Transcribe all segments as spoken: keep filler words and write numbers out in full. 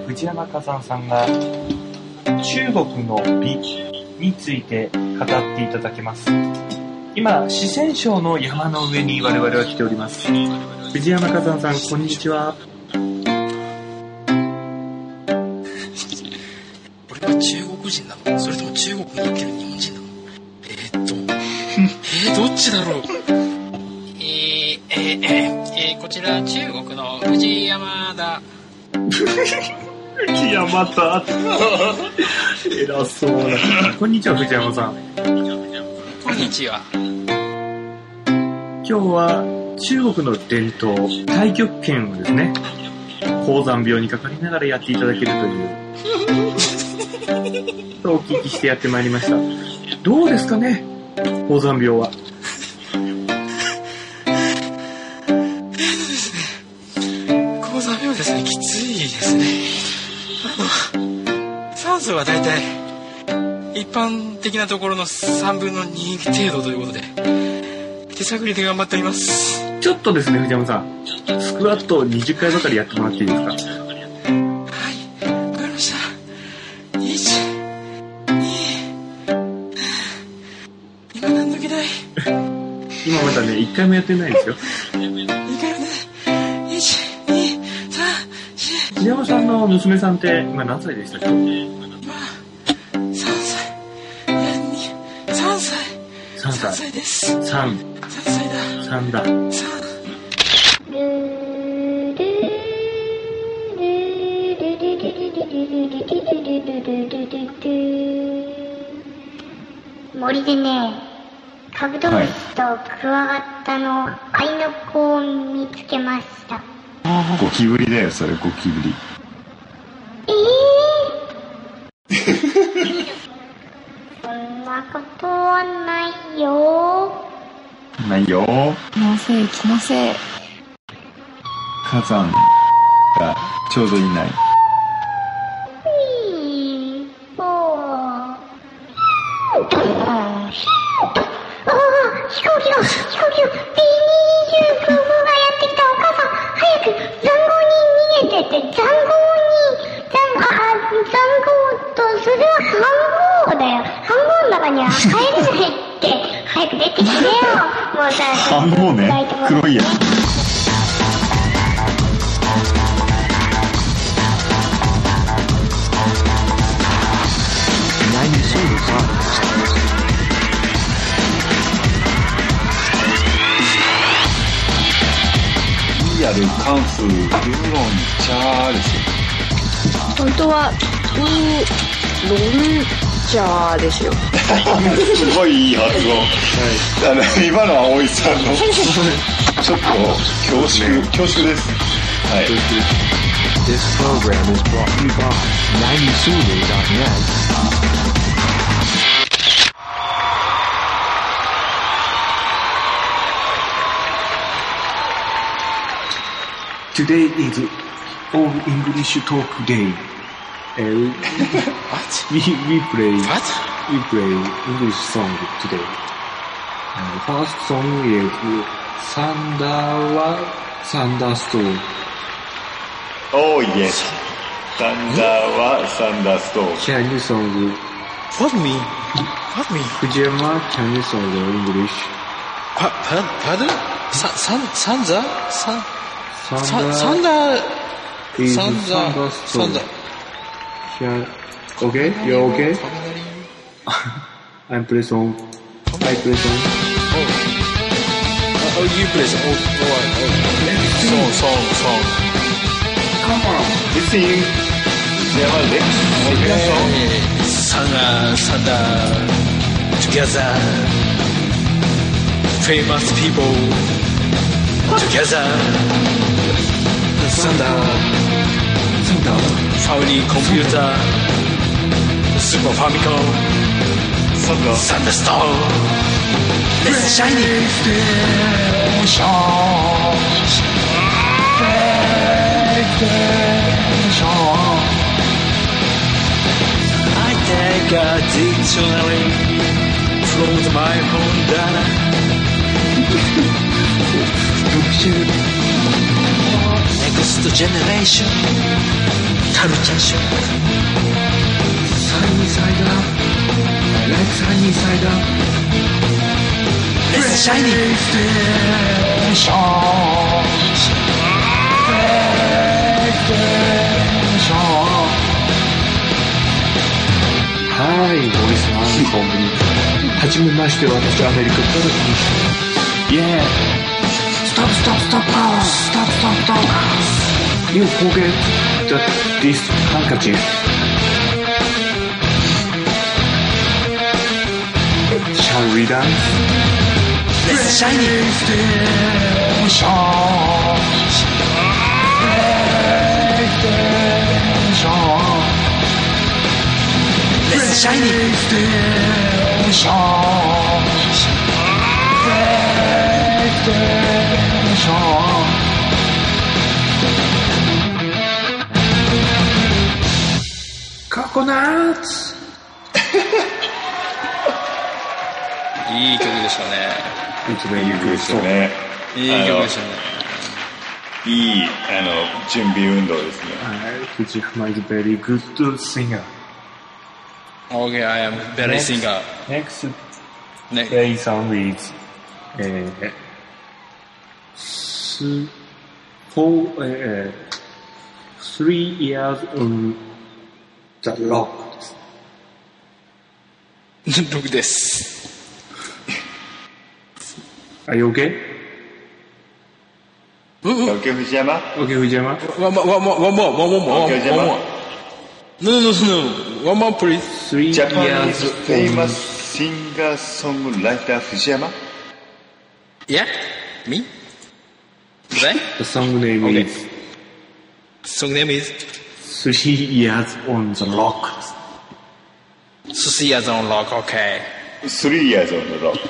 藤山火山さんが中国の美について語っていただけます。今、四川省の山の上に我々は来ております。藤山火山さん、こんにちは。 俺は中国人なの？それとも中国に生きる日本人なの？えー、っとえー、どっちだろう。 えー、えー、えー、こちら中国の藤山だ。 藤山だ。偉そうな。こんにちは、藤山さん。 こんにちは。 今日は中国の伝統、太極拳をですね、高山病にかかりながらやっていただけるというとお聞きしてやってまいりました。どうですかね、高山病は。 高山病ですね、きついですね。あの酸素はだいたい一般的なところのさんぶんのに程度ということで手探りで頑張っております。 ちょっとですね、藤山さん、スクワットにじゅっかいばかりやってもらっていいですか？ はい、わかりました。いち、に、今何の気ない。 今まだね、いっかいもやってないんですよ。 いっかい目でいち、に、さん、し。 藤山さんの娘さんって今何歳でしたっけ？ 今さんさい。いや、に、さんさい。 さんさい。 さんさいです。 さん。 さんさいだ。 さんだ。 さん。 森でね、カブトムシとクワガタの合いの子を見つけました。 ゴキブリだよ、それ、ゴキブリ。 えー、そんなことはないよ。 ないよ。 気のせい、気のせい。 火山がちょうどいない。 ああ、飛行機が、飛行機が ビーにじゅうきゅう 号がやってきた。お母さん、早く塹壕に逃げてって。塹壕に、塹、あ、塹壕と、それは飯盒だよ。飯盒の中には入れないって。早く出てきてよ。もうさ、 飯盒ね、黒いやつ。リアル関数ウーロン茶ですよ。 本当はウーロン茶ですよ。 すごいいい発音。はい、あの今のは大井さんのちょっと恐縮恐縮です。はい。 This program is brought to you by ナインスールドットネット。 Today is all English talk day. Uh, What? we we play What? we play English song today. Uh, first song is Thunder wa Thunderstorm. Oh yes. Thunder wa Thunderstorm. Can you song? What me? What me? Fujiyama, can you song English? Pa, pa, pardon? Sa, san, sanza? San, Thunder Thunder is Thunder thunderstorm. Thunder. Can, okay, you're okay. I'm play song. I play song. Oh. Oh, you play song. Oh, oh, oh. Song, song, song. Come on. Listen. Fujiyama, let's make a song. Thunder, thunder, together. Famous people together. Thunder, Thunder. family computer, Super Famicom, Thunder. Thunderstorm. Let's shine it. I take a dictionary from my phone data. ストジェネレーションカルチャーショーサニーサイドアップ Let's sunny side up Let's shiny はいボイスアンコムにはじめまして私アメリカから来ました Yeah Stop stop stop stop stop stop You forget that this handkerchief Shall we dance? Let's shiny Let's shiny Coconuts いい曲でしたね。 いい曲でしたね。 いい曲でしたね。 いい、あの、準備運動ですね。 藤浜 is very good singer. Okay, I am very singer. Next Ne- play song is えー、す、four, えー、three years on the rock です。 ログです。 Are you okay? うんうん。 OK 藤山 Okay, 藤山 One more, one more, one more, one more, one Okay, more. Gemma. No, no, no, no. One more, please. Three Japanese years famous singer songwriter 藤山 Yeah? Me? Right? The song name Okay. is Song name is Three Years on the Rock. Susiya's on Rock, okay. Three years on the rock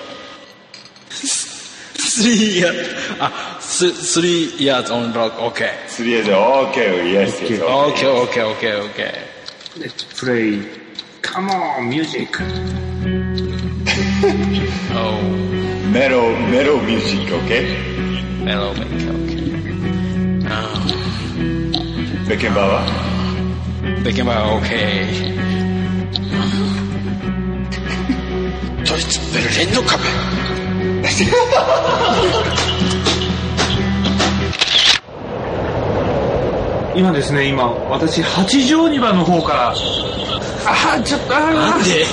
Three years, ah, th- three years on Rock, okay. Three years OK yes yes Okay, okay, okay, okay. Let's play. Come on, music. Oh, Mellow mellow music OK mellow make, okay. Oh, ベッケンバーは Beckenbauer, okay. ドイツベルリンの壁。 今ですね、今、私、八丈二番の方から、あー、ちょっと、あーなんです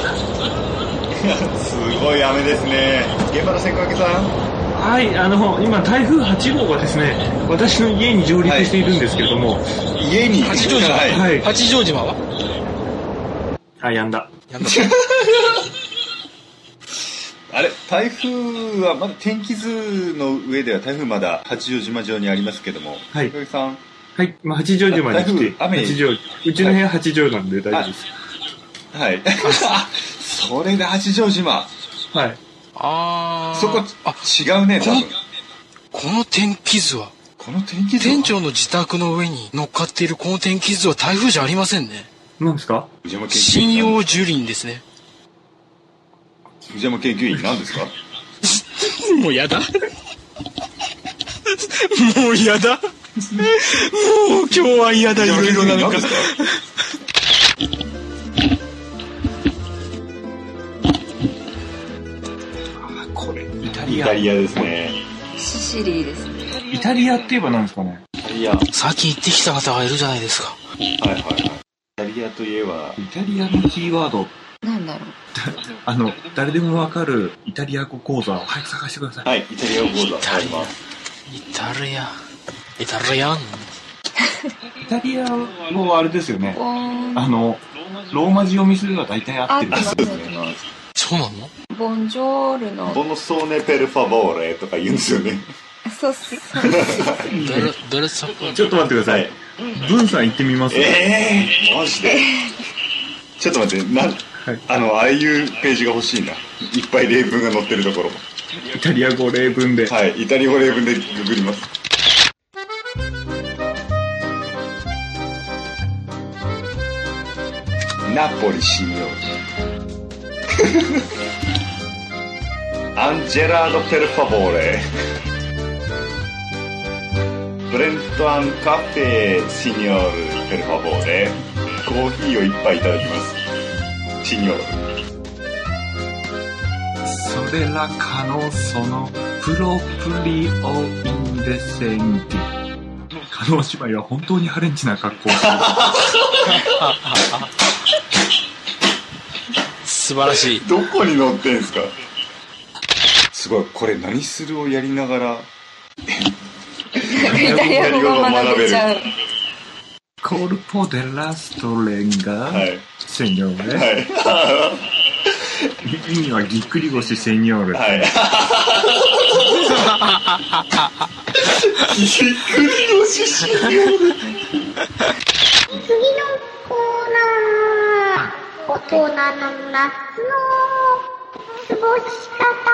ごい雨ですね現場の千掛さんはい、あの、今、台風はち号がですね、私の家に上陸しているんですけれども、 家に八丈島、 はいはい八丈島はあ、やんだ。 やんだ。 あれ台風はまだ天気図の上では台風まだ八丈島上にありますけどもはい千掛さんはい、まあ、八丈島に来て、 台風雨に八丈、うちの部屋八丈なんで大丈夫です。 はいあそれで八丈島はい。 あー。 そこあ、 違うね多分この天気図は、 この天気図は店長の自宅の上に乗っかっているこの天気図は台風じゃありませんね。 何ですか？ 藤山研究針員葉樹林ですね。 藤山研究員何ですかもうやだ。もうやだ。もう今日は嫌だ。いろいろなのか。 これ、イタリア。 イタリアですねシシリーですね。 イタリアって言えば何ですかね？ イタリアはい最近行ってきた方がいるじゃないですか。 はいはいイタリアといえばイタリアのキーワード、 なんだろう。 あの、誰でもわかるイタリア語講座を早く探してください。 はいイタリア語講座ありますイタリア。イタリアン。 イタリア語はあれですよね。 ボーン。 あの、ローマ字読みすれば大体合ってる。 あってます、合ってます。 そうなの？ ボンジョールの。 ボノソーネペルファボーレとか言うんですよねそうそう。 ベル、ベルサコ。 ちょっと待ってください。ブンさん行ってみます？ ええー、マジでちょっと待ってなん、 はいあのああいうページが欲しいないっぱい例文が載ってるところイタリア語例文で。 はいイタリア語例文でググりますナポリシニョーアンジェラード・ペルファボーレ Brenton Cafe, Signor, per favore. コーヒーを一杯いただきます。シニョール。 それらかのそのプロプリオインデセンティ。加納姉妹は本当にハレンチな格好をする。 素晴らしい。 どこに載ってんすか？すごい、これ何するをやりながらイタリア語が学べちゃう。 コルポデラストレンガ、はい、セニョーレ、 はい、 意味はぎっくり腰セニョーレ、 はい、ぎっくり腰セニョーレ。 次のコーナー、大人の夏の過ごし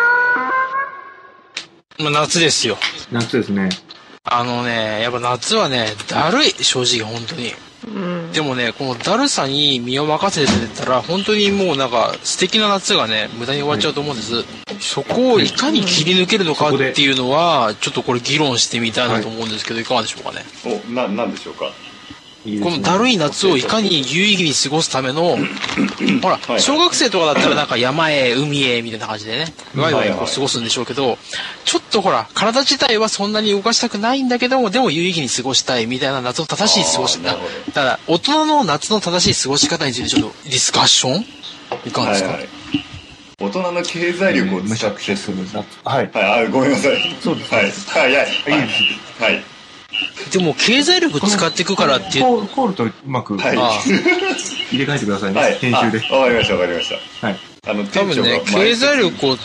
方。 まあ、夏ですよ。 夏ですね。 あのね、やっぱ夏はね、だるい、正直本当に。うん、でもね、このだるさに身を任せてたら、本当にもうなんか素敵な夏がね、無駄に終わっちゃうと思うんです。はい、そこをいかに切り抜けるのかっていうのは、ちょっとこれ議論してみたいなと思うんですけど、いかがでしょうかね。 お、な、なんでしょうか。 いいこのだるい夏をいかに有意義に過ごすための、ほら、小学生とかだったらなんか山へ、海へ、みたいな感じでね、ワイワイこう過ごすんでしょうけど、ちょっとほら、体自体はそんなに動かしたくないんだけども、でも有意義に過ごしたいみたいな夏の正しい過ごし方。ただ、大人の夏の正しい過ごし方についてちょっとディスカッションいかがですか？ はいはい、大人の経済力を使ってする夏。 はい。 はい、あ、ごめんなさい。 そうです。 はい。はい、はい。はい。はい。 でも経済力使っていくからってコールとうまく、はい、入れ替えてくださいね、はい、編集で。 わかりましたわかりました。 はい。 あの多分ね、経済力を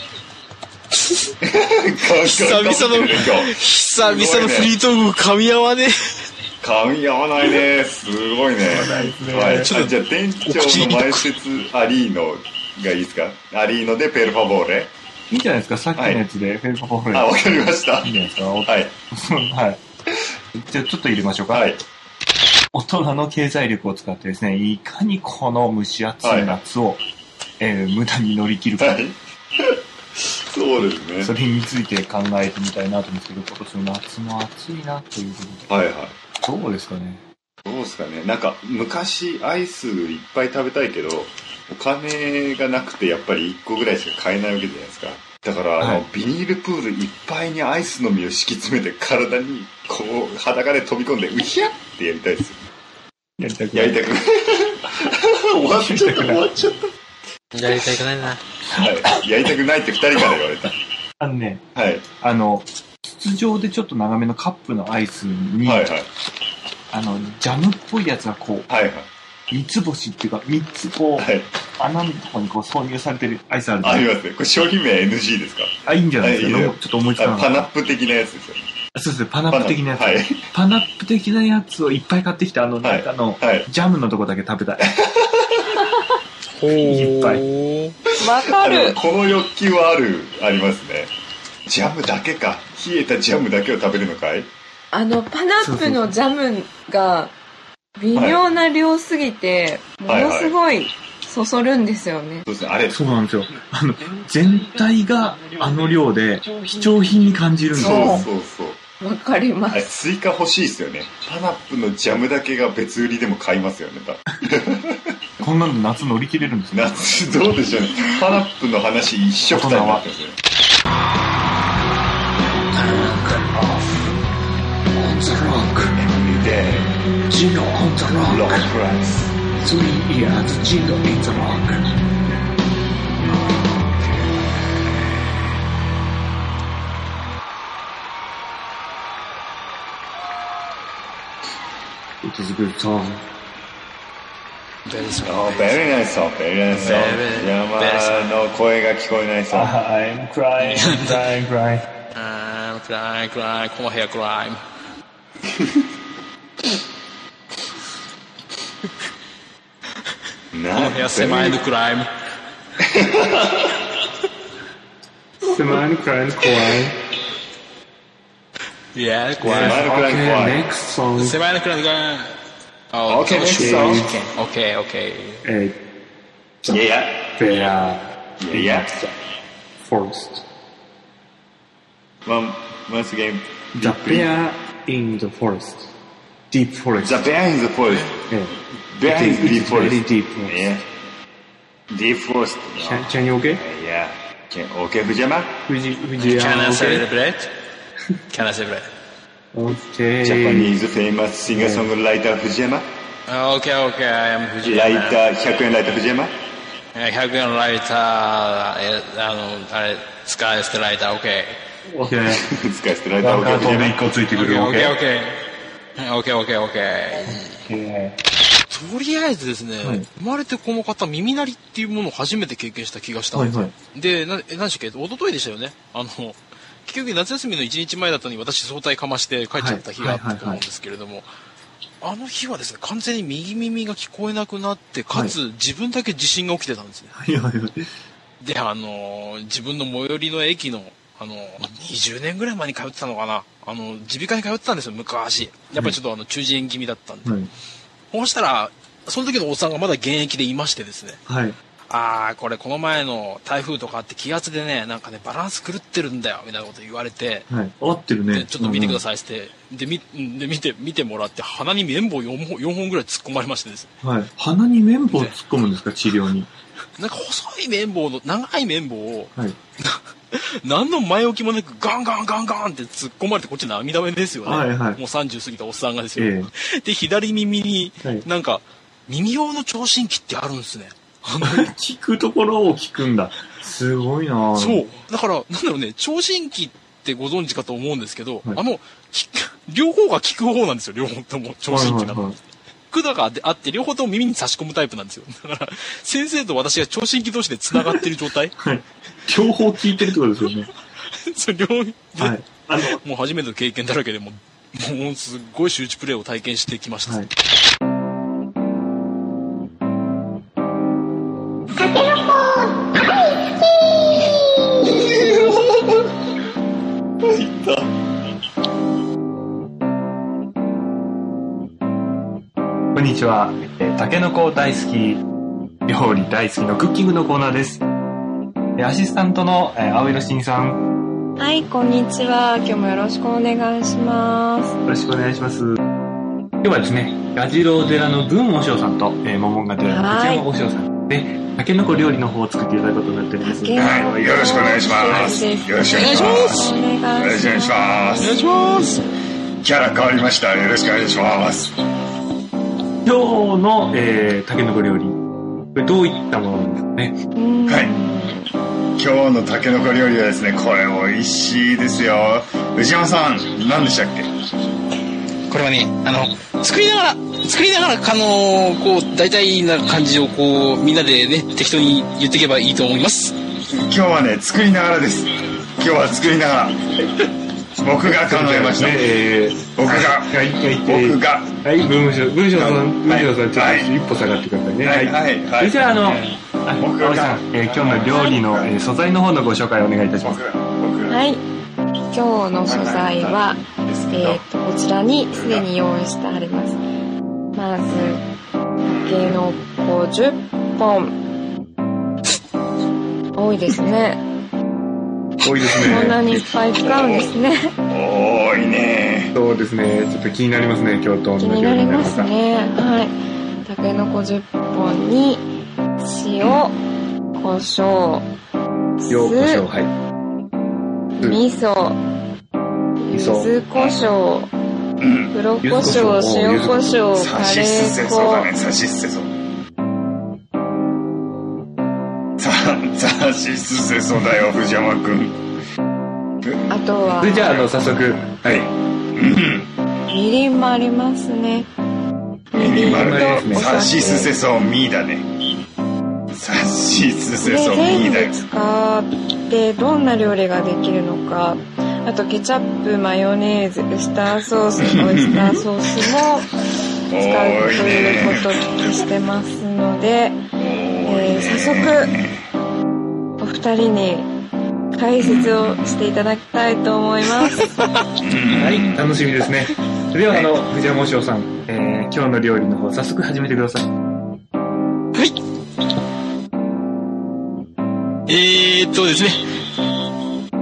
久々の久々のフリートーク噛み合わねえ。噛み合わないね。すごいね。はい。ちょっとじゃあ店長の前説アリーノがいいですか？アリーノでペルファボーレ。 いいんじゃないですか、さっきのやつでペルファボーレ。 あ、わかりました。 いいんじゃないですか。 はい。 はい。じゃあちょっと入れましょうか。はい。大人の経済力を使ってですね、いかにこの蒸し暑い夏を、はい、えー、無駄に乗り切るか。はい。 そうですね。 それについて考えてみたいなと思うんですけど、今年の夏も暑いなということで。 はいはい。 どうですかね。 どうですかね。なんか昔アイスいっぱい食べたいけど、お金がなくてやっぱりいっこぐらいしか買えないわけじゃないですか。だから、はい、あのビニールプールいっぱいにアイスの実を敷き詰めて体にこう裸で飛び込んでうひゃってやりたいですよ。 やりたくない。やりたくない。終わっちゃった終わっちゃった。 やりたくないな。 はい。やりたくないってふたりから言われた。 あのね、 はい。 あの筒状でちょっと長めのカップのアイスに、はいはい、あのジャムっぽいやつがこう。 はいはい。 三つ星っていうか三つこう、はい、穴のとこにこう挿入されてるアイスあるじゃん。 ありますね。これ商品名 エヌジー ですか？ あ、いいんじゃないですか。いいちょっと思いつかなかった。 パナップ的なやつですよね。 そうですね、パナップ的なやつ。パナ,、はい、パナップ的なやつをいっぱい買ってきて、あの中の、はい、ジャムのとこだけ食べたい。 ほー。 いっぱい。 わかる。 この欲求はある、ありますね。ジャムだけか。冷えたジャムだけを食べるのかい？ あの、パナップのジャムが、微妙な量すぎて、はい、ものすごいそそるんですよね。 そうですね、あれ。 そうなんですよ。あの、全体があの量で貴重品に感じるんですよ。 そうそうそう。 わかります。 スイカ欲しいですよね。パナップのジャムだけが別売りでも買いますよね。 こんなの夏乗り切れるんですね。 夏どうでしょうね。パナップの話一緒くたになってますよね。 Gino on the rock. Rock price. Three years, Gino in the rock. It is a good song. Very song. Oh, very nice song. Very nice song. 山の声が聞こえないsong. I'm crying, crying, crying. I'm crying, crying. この部屋 crime. この部屋狭いのクライム。 狭いのクライム怖い。 いや、怖い。 狭いのクライム怖い。 狭いのクライム怖い。 Oh, okay, next song. Okay, okay. Uh, yeah, yeah. Yeah, yeah. Forest. One, once again. The bear in the forest. Deep forest. The bear in the forest. Yeah. Bear in the deep forest. Very deep forest. Yeah. Deep forest. Can, can you okay? Yeah. Can, okay, Fujiyama? Fuji, Fujiyama, Can I okay? celebrate? Can I celebrate? Okay. Japanese famous singer-songwriter Fujiyama? Okay, okay, I am 藤ライ山。 ター、ひゃくえんライター Fujiyama? ひゃくえんライター、え、あの、あれ、使い捨てライター、OK。 Okay. 使い捨てライターワンカー OK トンで Fujiyama? いっこついてくる OK、 OK。 OK。OK、OK、OK。 えとりあえずですね、 はい生まれてこの方、耳鳴りっていうものを初めて経験した気がしたんですよ。 はいはい。 で、な、え、何でしたっけ一昨日でしたよね。あの、結局夏休みのいちにちまえだったのに私早退かまして帰っちゃった日があったと思うんですけれども、あの日はですね、完全に右耳が聞こえなくなって、かつ、自分だけ地震が起きてたんですね。 はいはいはい。 で、あのー自分の最寄りの駅の、あのーにじゅうねんぐらい前に通ってたのかな。あの、耳鼻科に通ってたんですよ、昔。やっぱりちょっとあの、中耳炎気味だったんで。 はい。 そうしたら、その時のおっさんがまだ現役でいましてですね。 はい。 あー、これこの前の台風とかあって気圧でね、なんかね、バランス狂ってるんだよ、みたいなこと言われて、 はい。合ってるね。 でちょっと見てくだい。 さいって、で、み、で、見て、見てもらって、鼻に綿棒よんほん、よんほんぐらい突っ込まれましてですね。 はい。鼻に綿棒突っ込むんですか、治療に。 なんか細い綿棒の、長い綿棒を、 はい。 何の前置きもなくガンガンガンガンって突っ込まれてこっち涙目ですよね。 はいはいもうさんじゅう過ぎたおっさんがですよ。 えで、左耳にはい、 なんか、耳用の聴診器ってあるんですね。あのえ。聞くところを聞くんだ。すごいなぁ。 そう。だから、なんだろうね、聴診器ってご存知かと思うんですけど、 はいあの、聞く両方が聞く方なんですよ、両方とも、聴診器なの。 はいはいはい管があって、両方とも耳に差し込むタイプなんですよ。だから、先生と私が聴診器同士で繋がってる状態はい。両方聞いてるってことですよね。 それ両方で、 はい。あの、 もう初めての経験だらけでもう、もうすっごい周知プレイを体験してきました。 はい。 タケノコ大好きこんにちは。えータケノコ大好き、料理大好きのクッキングのコーナーです。えーアシスタントの、えー青色しんさん、 はい、こんにちは。今日もよろしくお願いします。 よろしくお願いします。今日はですね、ガジロウ寺の文和尚さんと、えー、モモンガ寺の内山和尚さんで、タケノコ料理の方を作っていただくことになっております。 タケノコはいよろしくお願いしますよろしくお願いしますお願いします。 よろしくお願いしますお願いします。 キャラ変わりました。よろしくお願いします。 今日の、えー、タケノコ料理、これどういったものなんですかね。 うんはい今日のタケノコ料理はですね、これ美味しいですよ。藤山さん、何でしたっけ？ これはね、あの、作りながら、作りながら、あの、こう、大体な感じをこう、みんなでね、適当に言っていけばいいと思います。 今日はね、作りながらです。今日は作りながら。僕が考えました。 ねえー、 僕が、 はい、はい、 僕が。 はい、文章、文章さん、文はい章さん、ちょっはいと一歩下がってくださいね。 はい、はい、はい。 それじゃあ、あの、あ僕が青井さん、えー今日の料理の、えー素材の方のご紹介をお願いいたします。 僕が、僕が。 はい。今日の素材は、 ですけどえっ、と、こちらにすでに用意してあります。まず、タケノコじゅっぽん。多いですね。 多いですね。 こんなにいっぱい使うんですね。 多いね。 そうですね。ちょっと気になりますね、今日と同じ気になりますね。はい。タケノコじゅっぽんに、塩、胡椒、 ようこしょう、 酢、 はい。 味噌、柚子胡椒、 うん。 黒胡椒、塩胡椒、 さカレしすせー粉、 そうだね、さしすせそう。さ、さしすせそうだよ、藤山くん。 あとはそれ、じゃあ、あの、早速、はい。 うん。 みりんもありますね。みりんとおさしすせ酒。 そう、みーだね。さしすせで、 そう、みー全だよ部。使ってどんな料理ができるのか、あとケチャップ、マヨネーズ、ウスターソース、オイスターソースも使うということをお聞きしてますので、えー早速、お二人に解説をしていただきたいと思います。 はい、楽しみですね。それでは、あの、藤山和尚さん、えー、今日の料理の方、早速始めてください。 はい。えーっとですね。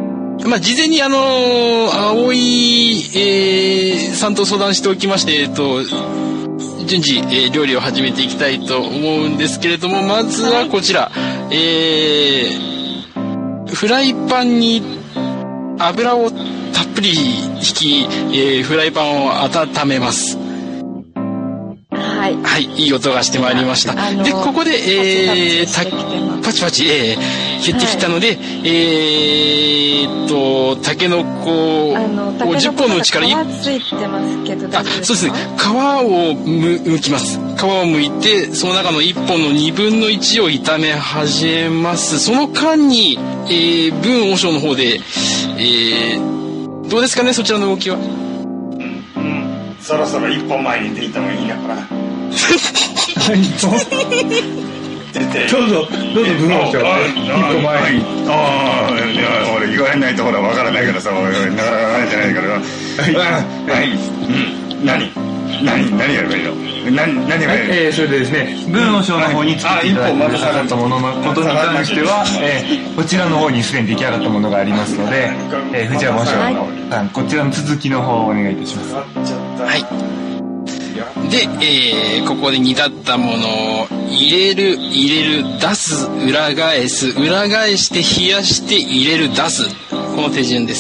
まあ、事前にあの青井、えー、さんと相談しておきまして、えっと順次、えー、料理を始めていきたいと思うんですけれども、まずはこちら、えー、フライパンに油をたっぷり引き、えー、フライパンを温めます。 はい。 はい、いい音がしてまいりました。で、ここで、えー、パチパチ、えー、減ってきたので、はい、えーっと、タケノコをじゅっぽんのうちからいっぽん。 皮ついてますけど大丈夫ですか？ あ、そうですね。皮をむ剥きます。皮を剥いて、その中のいっぽんのにぶんのいちを炒め始めます。その間に、えー、文和尚の方で、えー、どうですかね、そちらの動きは。 うん、うん、そろそろいっぽんまえに出た方がいいのかな。 はい、どうぞ、どうぞ、文和尚、一歩前に。 ああ、いや、俺言われないとほらわからないからさ、俺なかなか慣れてないから。はい、うん、何、何、何やればいいの？何、何がいいの？ えー、それでですね、文和尚の方に作っていただいてくださったもののことに関しては、えー、こちらの方にすでに出来上がったものがありますので、えー、藤山和尚さん、こちらの続きの方をお願いいたします。 はい。で、えー、ここで煮立ったものを入れる、入れる、出す、裏返す、裏返して冷やして入れる、出す。この手順です。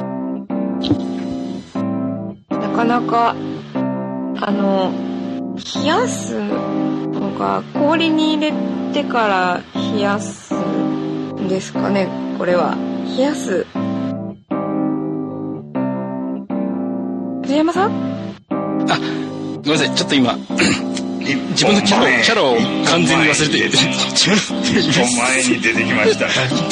なかなか、あの、冷やすのが氷に入れてから冷やすんですかね、これは。冷やす。藤山さん？ あ、ごめんなさい、ちょっと今自分のキャラをキャラを完全に忘れて一本前に出てきました。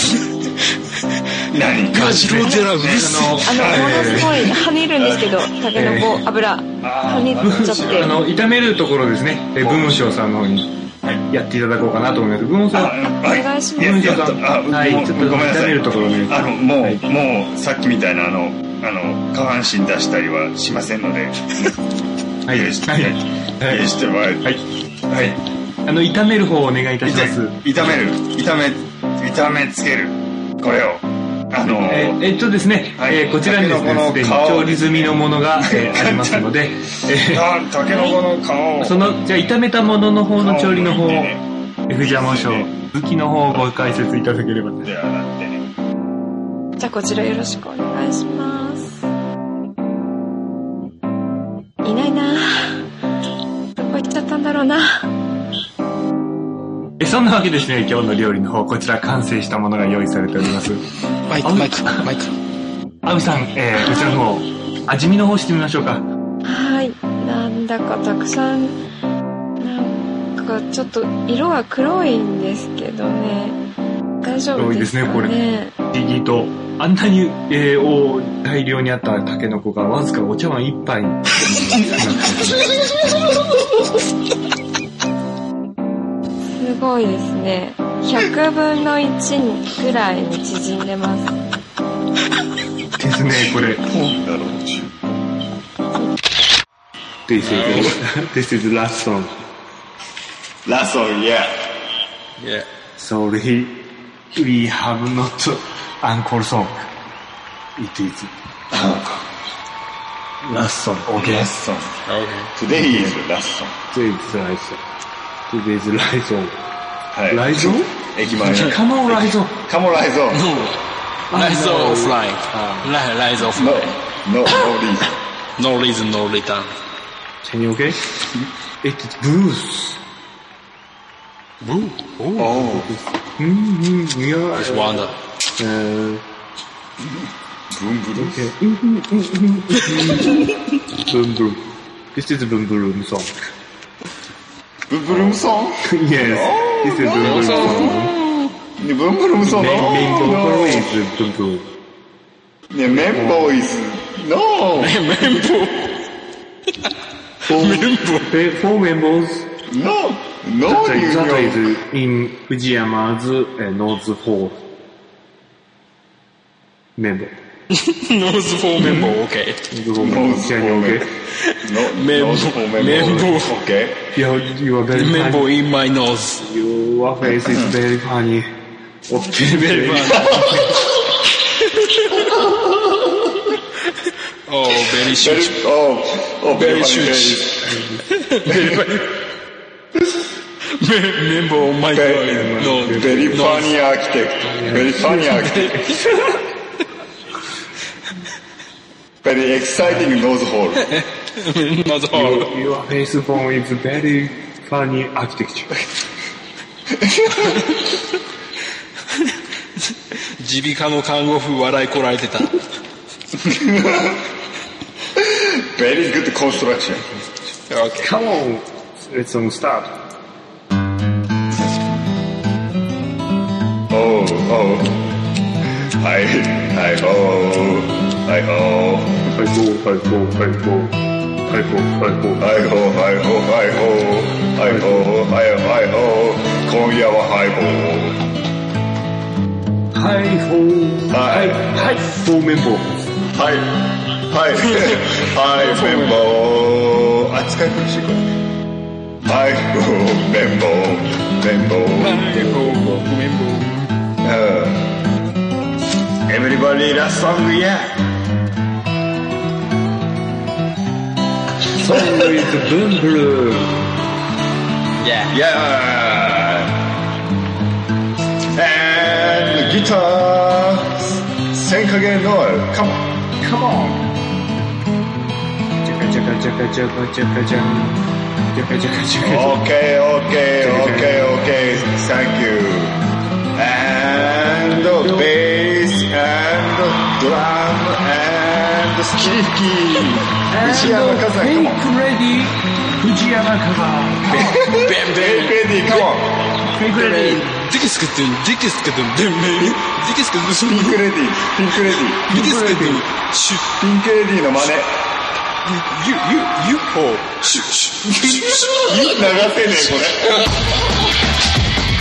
何？ ガジロ寺うるせえ。 あの、ものすごい跳ねるんですけど、タケノコ油跳ねちゃって。 あの炒めるところですね。文和尚さんの方にやっていただこうかなと思います。文和尚さん、 お願いします。 文和尚さん、はい、ちょっと炒めるところね。 あのもう、はい、もうさっきみたいなあのあの下半身出したりはしませんので。はい、はい、はい、してもらえる。はい、はい。 あの炒める方をお願いいたします。 炒める、炒め、炒めつける。これを。あのー、 えー、えっとですね、はい、えー、こちらにですね、すでに調理済みのものが、えー、ありますので、 えー、タケノコの皮を。 その、じゃあ炒めたものの方の調理の方を、藤山和尚、武器の方をご解説いただければと。 ではなってね。 じゃあこちらよろしくお願いします。いないな。どこ行っちゃったんだろうな。 えそんなわけですね、今日の料理の方、こちら完成したものが用意されております。 マイク、マイク、マイク。 アウさん、えー、こちらの方、味見の方してみましょうか。 はい、なんだかたくさん、なんかちょっと色が黒いんですけどね。大丈夫ですかね。黒いですね、これ。 不思議と、あんなに、えー、お大量にあったタケノコがわずかお茶碗一杯になってすごいですね。ひゃくぶんのいちぐらいに縮んでます。 ですね、これ。This is this is last song. Last song, yeah. Yeah. Sorry, we have not encore song. It is last song. Okay. Last song. Okay. Today is last song. Today is last song. Today's last song. はい。 ライゾン？ 駅前の。 カモンライゾン。 カモンライゾン。 ライゾンフライ。ライゾンフライ。 No, no reason. No reason, no return. Can you okay? It's blues. Blue? Oh. Mm-hmm. Yeah. It's wonder. Uh, boom boom. Okay. Boom boom. This is boom boom song. Boom boom song? Yes. Oh, this is boom boom song. Boom boom song. Main vocal is boom boom. Yeah, main voice. No. Membo. Four, four members. No. No. That is in Fujiyama's uh, Nose four member. Nose four member, okay. Nose four member. No. Nose four member. Okay. You, you are very member funny. in my nose. Your face is very funny. Okay. Very funny. Oh, very Very, shoot. oh, oh, very Very funny, shoot. very, Very funny. Member, oh my very, god. No, very no. funny architect. Very funny architect. Very exciting nose hole. Not all. Your, your face phone is very funny architecture. 耳鼻科の看護婦笑いこられてた。 Very good construction. Okay. Come on, let's um, start. Oh, oh. Hi, hi, oh. Hi, oh. Hi ho, hi ho, hi ho, hi ho, hi ho. Hi, ho, hi, ho, hi, ho. Hi, ho, hi, hi, ho. 今夜はハイボー。 Hi ho, はい hi ho, member. はい。はい。はい、綿棒。あ、使い古しいこれ。はい、綿棒。綿棒。 綿棒。 うん。Everybody last song, yeah. Song is Boom Blue. Yeah. Yeah. And guitar. 千影ノエル。Come on. Come on. Jaka jaka jaka jaka jaka jaka. Jaka jaka jaka. Okay, okay, okay, okay. Thank you. And bass and drum and スキリフキー。藤山火山。Come on. Fake ready. Fujiyama Kaza. ベンベンレディー。Come on. Fake ready. ディキスクってディキスクってデンメイディキスクってピンクレディー。ピンクレディー。 ディキスクってシュッピンクレディーの真似。 ユユユーフォーシュッシュッシュッシュッ流せねえこれ。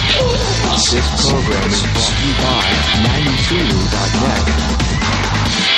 This program is brought to you by ninety-two dot net.